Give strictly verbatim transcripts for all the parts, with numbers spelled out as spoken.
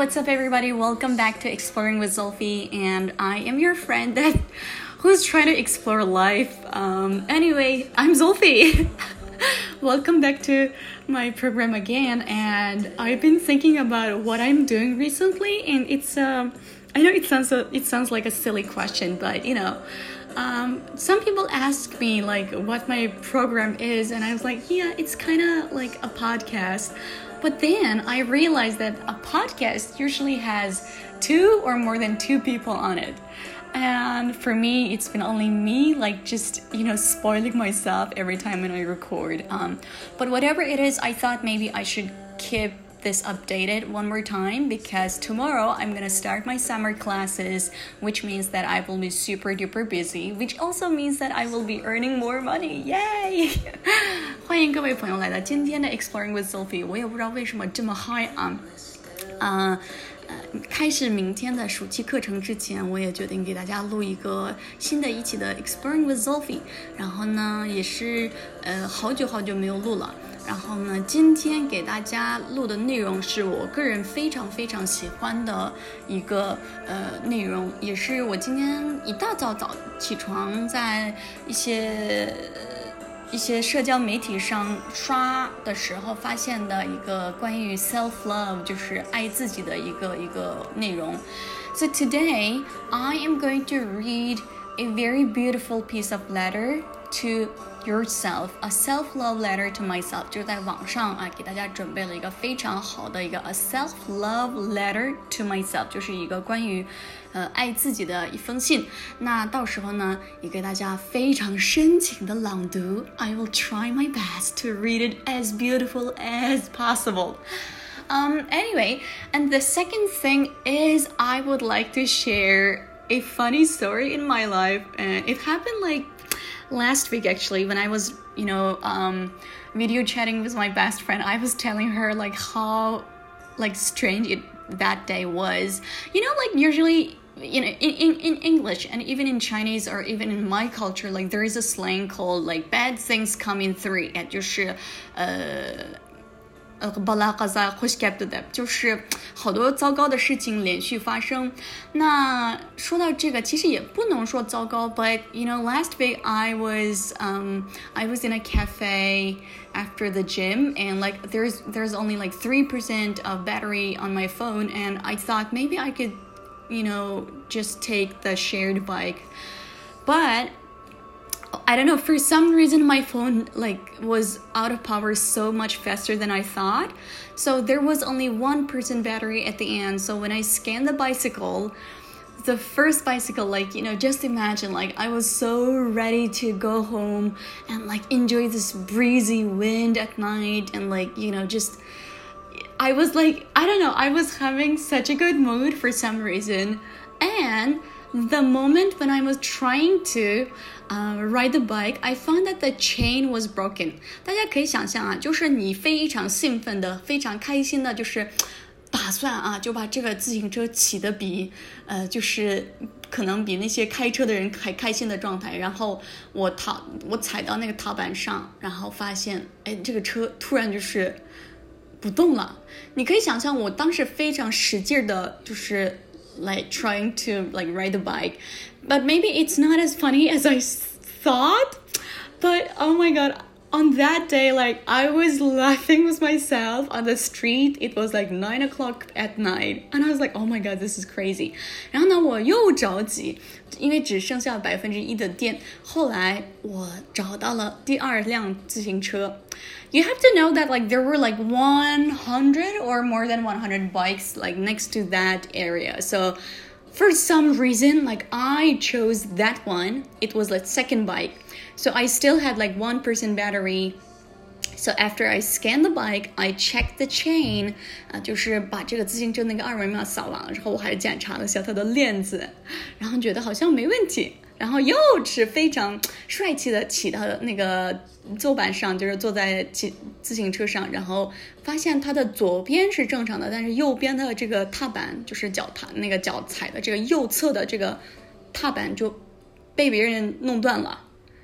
what's up everybody? Welcome back to Exploring with Zulfi, and I am your friend that who's trying to explore life. Um, anyway, I'm Zulfi. Welcome back to my program again, and I've been thinking about what I'm doing recently, and it's um, I know it sounds a, it sounds like a silly question, but you know, um, some people ask me like what my program is, and I was like, yeah, it's kind of like a podcast. But then I realized that a podcast usually has two or more than two people on it. And for me, it's been only me, like just, you know, spoiling myself every time when I record. Um, but whatever it is, I thought maybe I should keep this updated one more time, because tomorrow I'm going to start my summer classes, which means that I will be super duper busy, which also means that I will be earning more money. Yay! 欢迎各位朋友来到今天的 Exploring with Zulfi。 我也不知道为什么这么嗨啊。呃呃，开始明天的暑期课程之前，我也决定给大家录一个新的一期的 Exploring with Zulfi。 然后呢，也是呃好久好久没有录了。然后呢，今天给大家录的内容是我个人非常非常喜欢的一个呃内容，也是我今天一大早早起床在一些一些社交媒体上刷的时候发现的一个关于 self love， 就是爱自己的一个一个内容。So today I am going to read a very beautiful piece of letter to yourself, a self-love letter to myself. 就在网上啊，给大家准备了一个非常好的一个 a self-love letter to myself， 就是一个关于呃爱自己的一封信。那到时候呢，也给大家非常深情的朗读。I will try my best to read it as beautiful as possible. Um, anyway, and the second thing is I would like to share a funny story in my life, and it happened like last week actually, when I was, you know, um, video chatting with my best friend. I was telling her like how like strange it, that day was. You know, like usually, you know, in, in, in English and even in Chinese or even in my culture, like there is a slang called like bad things come in three. 就是呃呃，巴拉嘎萨呼吸感的，就是好多糟糕的事情连续发生。那说到这个，其实也不能说糟糕 ，but you know, last week I was um I was in a cafe after the gym, and like there's there's only like three percent of battery on my phone, and I thought maybe I could, you know, just take the shared bike, but I don't know, for some reason my phone like was out of power so much faster than I thought. So there was only one percent battery at the end. So when I scanned the bicycle, the first bicycle, like, you know, just imagine like I was so ready to go home and like enjoy this breezy wind at night, and like, you know, just I was like, I don't know, I was having such a good mood for some reason. And the moment when I was trying to uh, ride the bike, I found that the chain was broken. 大家可以想象啊，就是你非常兴奋的、非常开心的，就是打算啊，就把这个自行车骑得比呃，就是可能比那些开车的人还开心的状态。然后我踏我踩到那个踏板上，然后发现，哎，这个车突然就是不动了。你可以想象我当时非常使劲的，就是like trying to like ride the bike, but maybe it's not as funny as I thought. But oh my god, on that day, like I was laughing with myself on the street. It was like nine o'clock at night, and I was like, oh my god, this is crazy. 然后呢，我又着急，因为只剩下百分之一的电。后来我找到了第二辆自行车。You have to know that like there were like one hundred or more than one hundred bikes like next to that area. So for some reason, like I chose that one. It was like second bike. So I still had like one percent battery. So after I scanned the bike, I checked the chain. 啊、呃，就是把这个自行车那个二维码扫完了之后，我还检查了一下它的链子，然后觉得好像没问题。然后又是非常帅气的骑到那个坐板上，就是坐在骑自行车上，然后发现它的左边是正常的，但是右边的这个踏板，就是脚踏那个脚踩的这个右侧的这个踏板就被别人弄断了。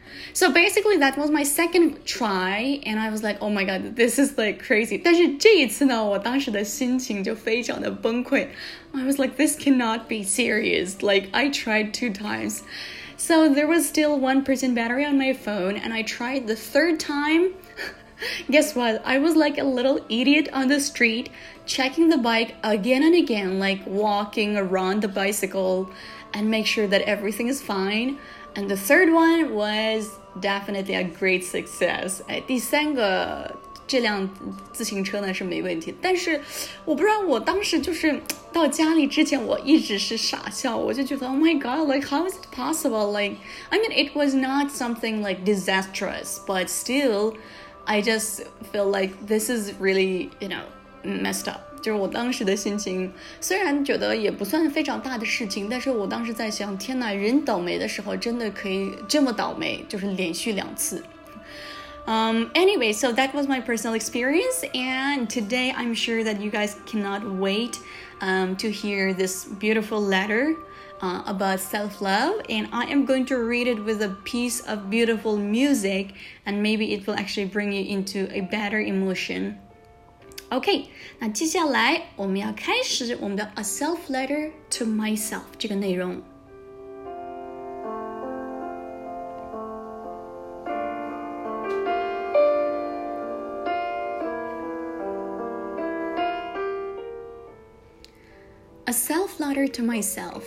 So basically that was my second try and I was like, oh my god, this is like crazy. 但是这一次呢，我当时的心情就非常的崩溃。I was like, this cannot be serious. Like, I tried two times. So there was still one percent battery on my phone and I tried the third time. Guess what? I was like a little idiot on the street, checking the bike again and again, like walking around the bicycle and make sure that everything is fine. And the third one was definitely a great success. 哎，第三个这辆自行车呢是没问题，但是我不知道我当时就是到家里之前我一直是傻笑，我就觉得 Oh my god, like how is it possible? Like, I mean, it was not something like disastrous, but still, I just feel like this is really, you know, messed up.就是我当时的心情虽然觉得也不算非常大的事情，但是我当时在想，天哪，人倒霉的时候真的可以这么倒霉，就是连续两次。Um, anyway, so that was my personal experience, and today I'm sure that you guys cannot wait um, to hear this beautiful letter uh, about self-love, and I am going to read it with a piece of beautiful music, and maybe it will actually bring you into a better emotion.OK, 那接下来我们要开始我们的 A Self Letter to Myself 这个内容。A Self Letter to Myself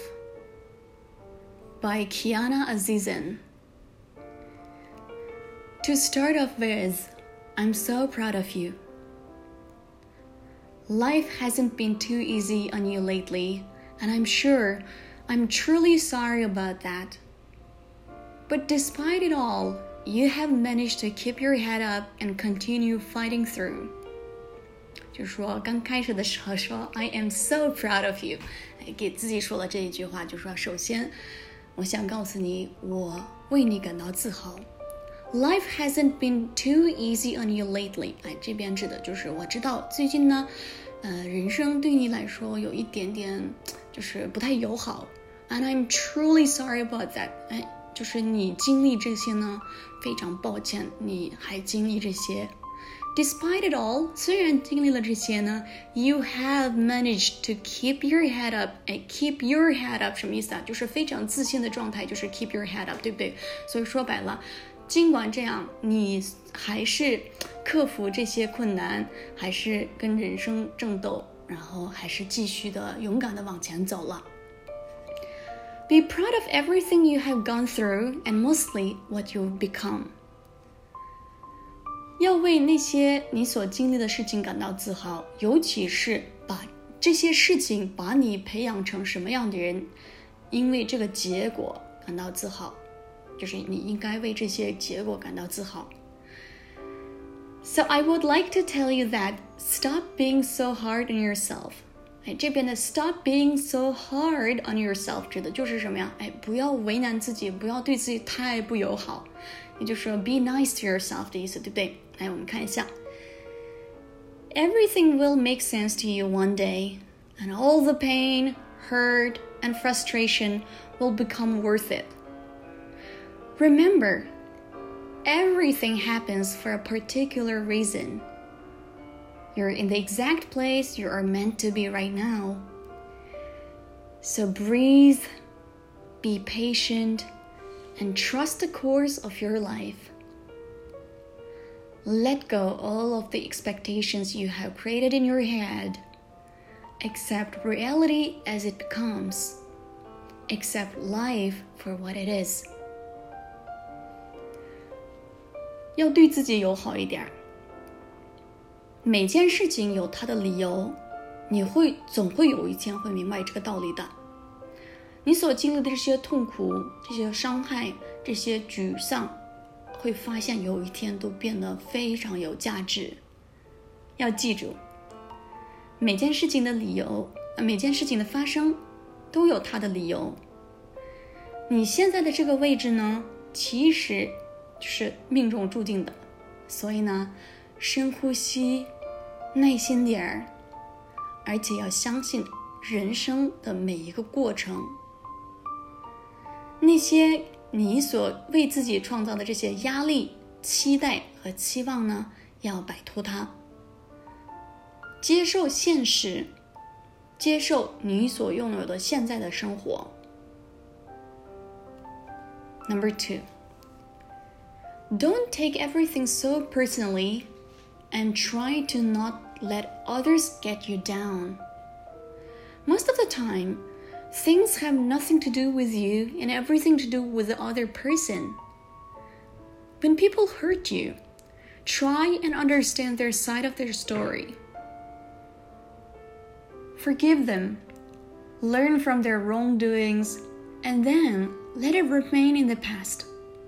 by Kiana Azizan. To start off with, I'm so proud of you.Life hasn't been too easy on you lately, and I'm sure I'm truly sorry about that. But despite it all, you have managed to keep your head up and continue fighting through. 就说刚开始的时候说 I am so proud of you， 给自己说了这一句话，就说首先我想告诉你，我为你感到自豪。Life hasn't been too easy on you lately. 哎，这边指的就是我知道最近呢，呃，人生对你来说有一点点就是不太友好。And I'm truly sorry about that. 哎，就是你经历这些呢，非常抱歉，你还经历这些。Despite it all, 虽然经历了这些呢 you have managed to keep your head up. 哎 keep your head up 什么意思啊？就是非常自信的状态，就是 keep your head up， 对不对？所以说白了，尽管这样，你还是克服这些困难，还是跟人生争斗，然后还是继续的勇敢的往前走了。Be proud of everything you have gone through and mostly what you've become. 要为那些你所经历的事情感到自豪，尤其是把这些事情把你培养成什么样的人，因为这个结果感到自豪，就是你应该为这些结果感到自豪。So I would like to tell you that stop being so hard on yourself. 哎，这边的 stop being so hard on yourself 指的就是什么呀？哎，不要为难自己，不要对自己太不友好，也就是说 be nice to yourself 的意思，对不对？来，我们看一下。Everything will make sense to you one day, and all the pain, hurt, and frustration will become worth it. Remember, everything happens for a particular reason. You're in the exact place you are meant to be right now. So breathe, be patient, and trust the course of your life. Let go all of the expectations you have created in your head. Accept reality as it comes. Accept life for what it is.要对自己友好一点，每件事情有它的理由，你会总会有一天会明白这个道理的。你所经历的这些痛苦、这些伤害、这些沮丧，会发现有一天都变得非常有价值。要记住，每件事情的理由，每件事情的发生都有它的理由。你现在的这个位置呢，其实是命中注定的，所以呢，深呼吸，耐心点儿，而且要相信人生的每一个过程。那些你所为自己创造的这些压力、期待和期望呢，要摆脱它，接受现实，接受你所拥有的现在的生活。Number two, don't take everything so personally and try to not let others get you down. Most of the time, things have nothing to do with you and everything to do with the other person. When people hurt you, try and understand their side of their story. Forgive them, learn from their wrongdoings, and then let it remain in the past.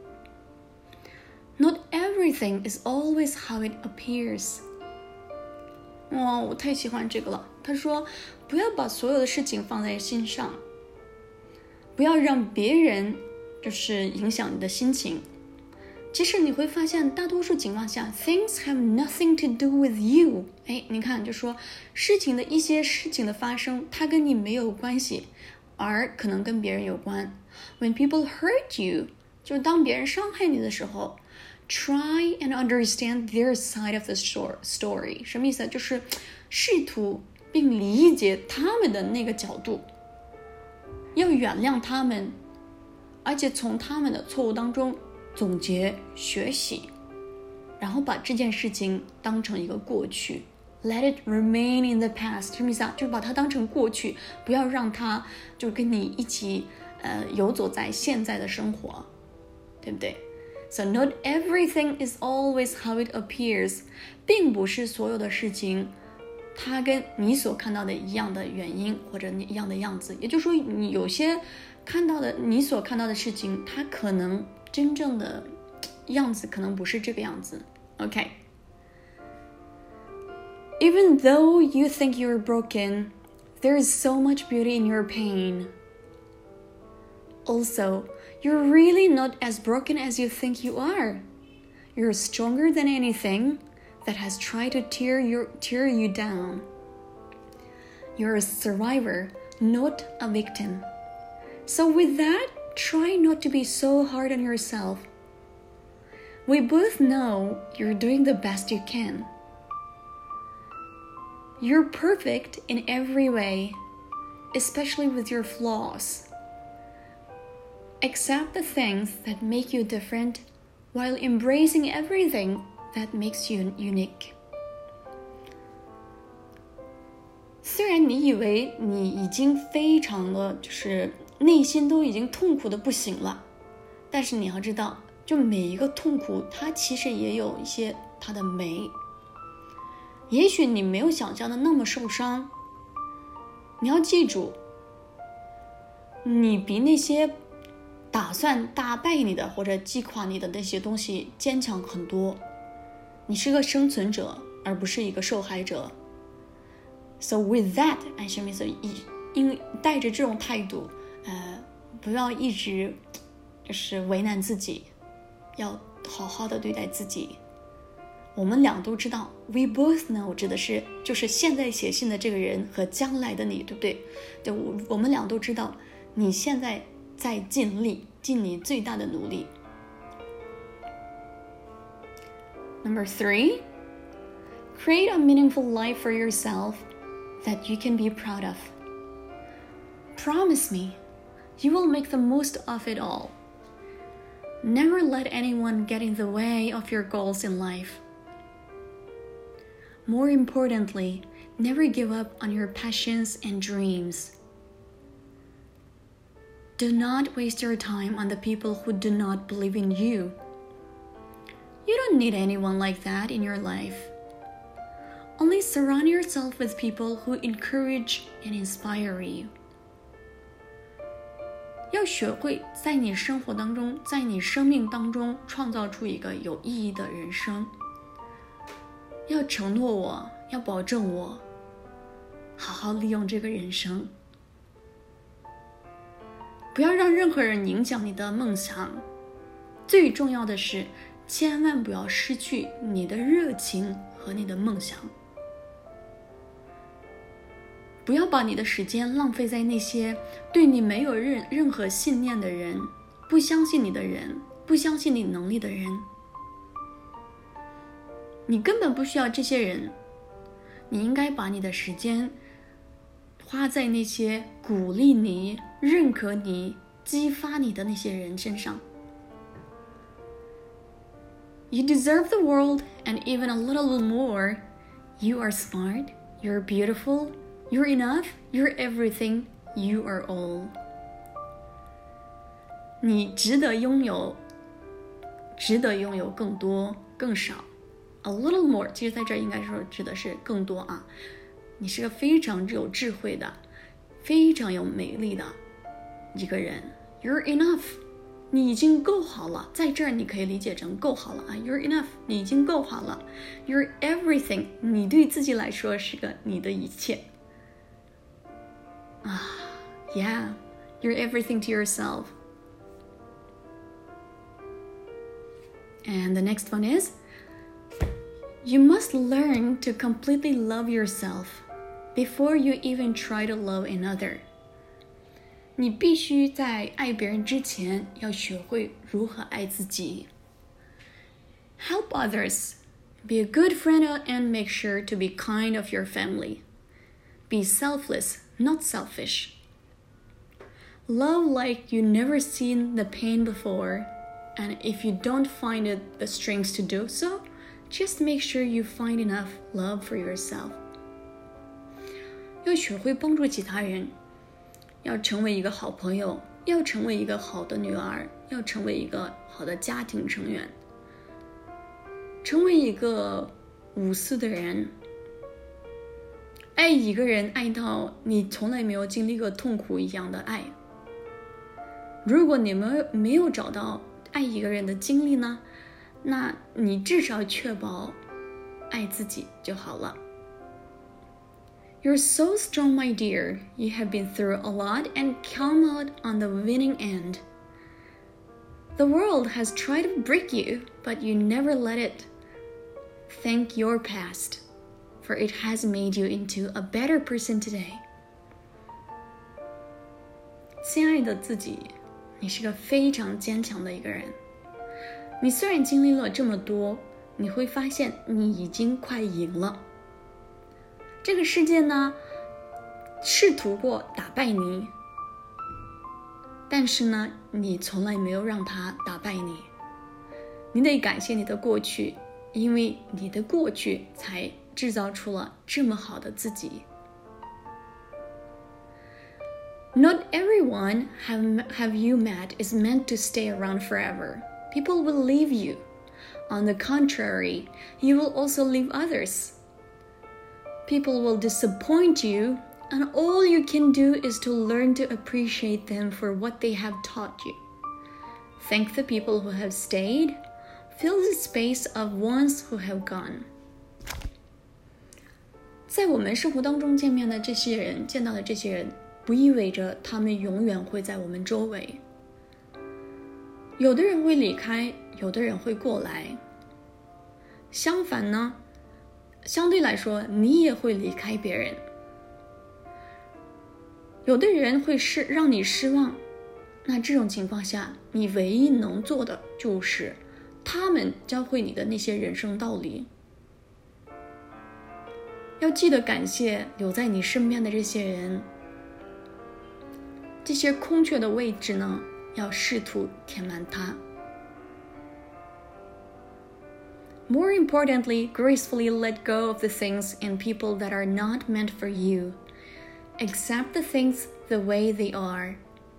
Not everything is always how it appears. 哇，我太喜欢这个了。他说，不要把所有的事情放在心上，不要让别人就是影响你的心情。即使你会发现，大多数情况下 ，things have nothing to do with you。哎，你看，就说事情的一些事情的发生，它跟你没有关系，而可能跟别人有关。When people hurt you， 就是当别人伤害你的时候 ，try and understand their side of the story。什么意思？就是试图并理解他们的那个角度，要原谅他们，而且从他们的错误当中总结学习，然后把这件事情当成一个过去。Let it remain in the past， 什么意思啊？就是把它当成过去，不要让它就跟你一起呃游走在现在的生活，对不对？ So not everything is always how it appears， 并不是所有的事情它跟你所看到的一样的原因或者一样的样子。也就是说，你有些看到的你所看到的事情，它可能真正的样子可能不是这个样子。 OK，Even though you think you're broken, there is so much beauty in your pain. Also, you're really not as broken as you think you are. You're stronger than anything that has tried to tear, your, tear you down. You're a survivor, not a victim. So with that, try not to be so hard on yourself. We both know you're doing the best you can.You're perfect in every way, especially with your flaws. Accept the things that make you different while embracing everything that makes you unique. 虽然你以为你已经非常的就是内心都已经痛苦的不行了，但是你要知道，就每一个痛苦它其实也有一些它的美。也许你没有想象的那么受伤，你要记住，你比那些打算打败你的或者击垮你的那些东西坚强很多。你是个生存者，而不是一个受害者。So with that， 哎，什么意思？因带着这种态度，呃，不要一直就是为难自己，要好好的对待自己。我们俩都知道 we both know 指的是就是现在写信的这个人和将来的你，对不对？对，我我们俩都知道你现在在尽力，尽你最大的努力。Number three, create a meaningful life for yourself that you can be proud of. Promise me, you will make the most of it all. Never let anyone get in the way of your goals in life.More importantly, never give up on your passions and dreams. Do not waste your time on the people who do not believe in you. You don't need anyone like that in your life. Only surround yourself with people who encourage and inspire you. 要学会在你生活当中，在你生命当中创造出一个有意义的人生。要承诺我，要保证我好好利用这个人生，不要让任何人影响你的梦想。最重要的是，千万不要失去你的热情和你的梦想。不要把你的时间浪费在那些对你没有任任何信念的人不相信你的人，不相信你能力的人，你根本不需要这些人，你应该把你的时间花在那些鼓励你、认可你、激发你的那些人身上。You deserve the world and even a little more. You are smart, you're beautiful, you're enough, you're everything, you are all. 你值得拥有，值得拥有更多、更少。A little more， 其实在这儿应该说指的是更多啊。你是个非常有智慧的、非常有美丽的一个人。You're enough， 你已经够好了。在这儿你可以理解成够好了啊。You're enough， 你已经够好了。You're everything， 你对自己来说是个你的一切。啊 ，Yeah， you're everything to yourself. And the next one is, you must learn to completely love yourself before you even try to love another. 你必须在爱别人之前要学会如何爱自己。Help others. Be a good friend and make sure to be kind of your family. Be selfless, not selfish. Love like you never seen the pain before.And if you don't find it the strength to do so, just make sure you find enough love for yourself. 要学会帮助其他人，要成为一个好朋友，要成为一个好的女儿，要成为一个好的家庭成员，成为一个无私的人。爱一个人爱到你从来没有经历过痛苦一样的爱。如果你们没有找到爱一个人的经历呢，那你至少确保爱自己就好了。You're so strong, my dear. You have been through a lot and come out on the winning end. The world has tried to break you, but you never let it. Thank your past, for it has made you into a better person today. 亲爱的自己，你是个非常坚强的一个人。你虽然经历了这么多，你会发现你已经快赢了。这个世界呢，试图过打败你，但是呢，你从来没有让它打败你。你得感谢你的过去，因为你的过去才制造出了这么好的自己。Not everyone have, have you met is meant to stay around forever. People will leave you. On the contrary, you will also leave others. People will disappoint you, and all you can do is to learn to appreciate them for what they have taught you. Thank the people who have stayed. Fill the space of ones who have gone. 在我们生活当中见面的这些人，见到的这些人，不意味着他们永远会在我们周围。有的人会离开，有的人会过来。相反呢，相对来说，你也会离开别人。有的人会是让你失望，那这种情况下，你唯一能做的就是他们教会你的那些人生道理。要记得感谢留在你身边的这些人，这些空缺的位置呢，要试图填满它。More importantly, gracefully let go of the things and people that are not meant for you. Accept the things the way they are.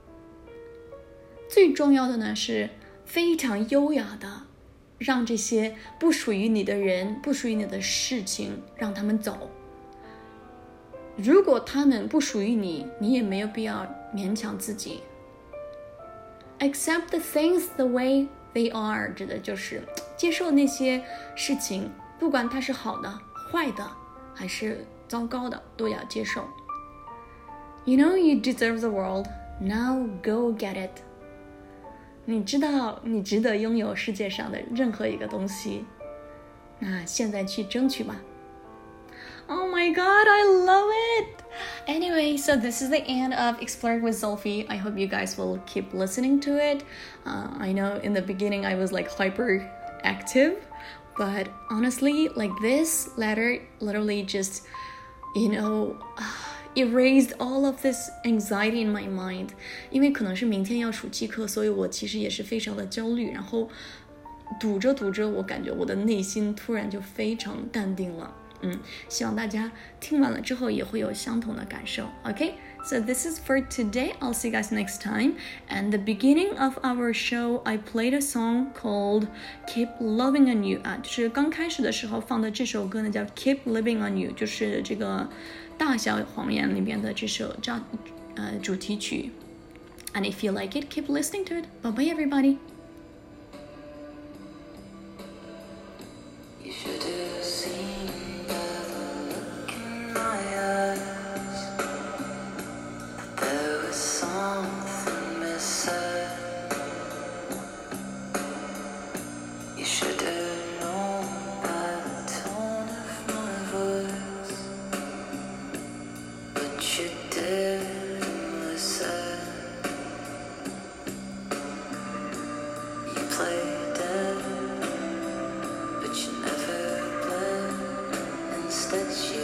最重要的呢，是非常优雅的，让这些不属于你的人、不属于你的事情，让他们走。如果他们不属于你，你也没有必要勉强自己。Accept the things the way they are 指的就是接受那些事情，不管它是好的、坏的，还是糟糕的，都要接受。You know you deserve the world. Now go get it. 你知道你值得拥有世界上的任何一个东西，那现在去争取吧。Oh my god, I love it! Anyway, so this is the end of Exploring with Zolfi. I hope you guys will keep listening to it. Uh, I know in the beginning I was like hyper active, but honestly, like this letter literally just, you know, erased all of this anxiety in my mind. 因为可能是明天要暑期课，所以我其实也是非常的焦虑，然后读着读着，我感觉我的内心突然就非常淡定了。嗯，希望大家听完了之后也会有相同的感受。Okay, so this is for today. I'll see you guys next time. And the beginning of our show, I played a song called "Keep Loving on You" 啊，就是刚开始的时候放的这首歌呢，叫 "Keep Living on You"，就是这个大小谎言里面的这首叫呃主题曲。And if you like it, keep listening to it. Bye bye, everybody. You should have seen by the look in my eyes that there was something missing. You should have known by the tone of my voice, but you didn't listen. You played dead, but you never bled. Instead, you